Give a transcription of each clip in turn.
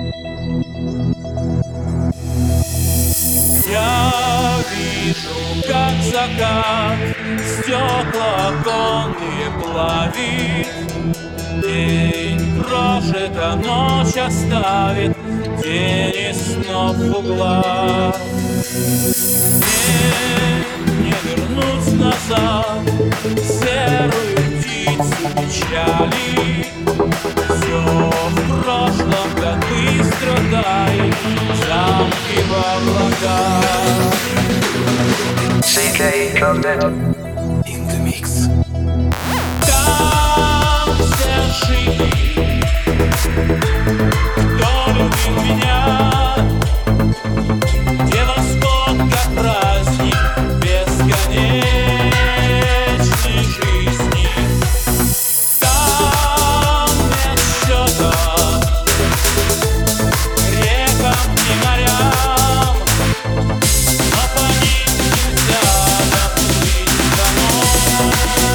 Я вижу, как закат стекла оконные плавит. День прожит, а ночь оставит тени снов в углах. Мне не вернуть назад серую птицу печали. Все в прошлом, как быстро тает замки в облаках. CK Content in the mix. Там все жили, кто любил меня, где восход как праздник бесконечной жизни. Там нет счета рекам и морям, но по ним нельзя доплыть домой.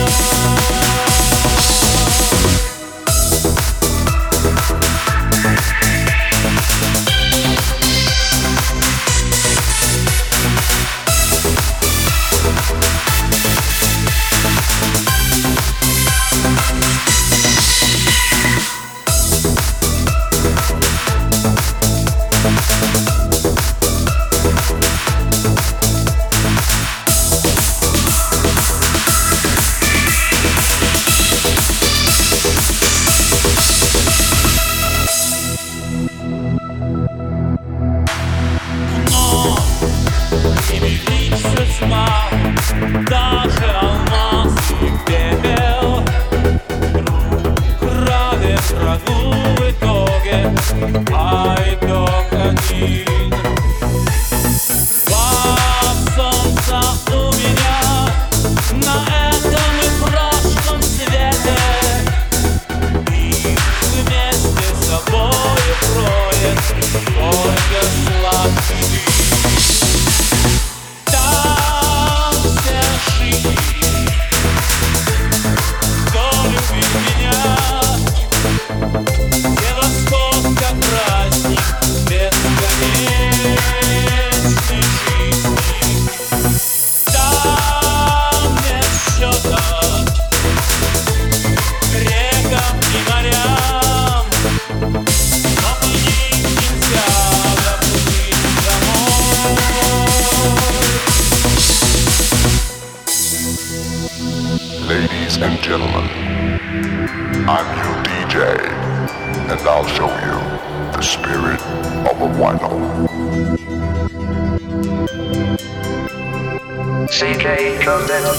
Тьма, даже алмазы в пепел, крови врагу в итоге, а итог один. Два солнца у меня на этом и прошлом свете, их вместе с собой кроет только сладкий дым. Ladies and gentlemen, I'm your DJ, and I'll show you the spirit of a vinyl. CK Content.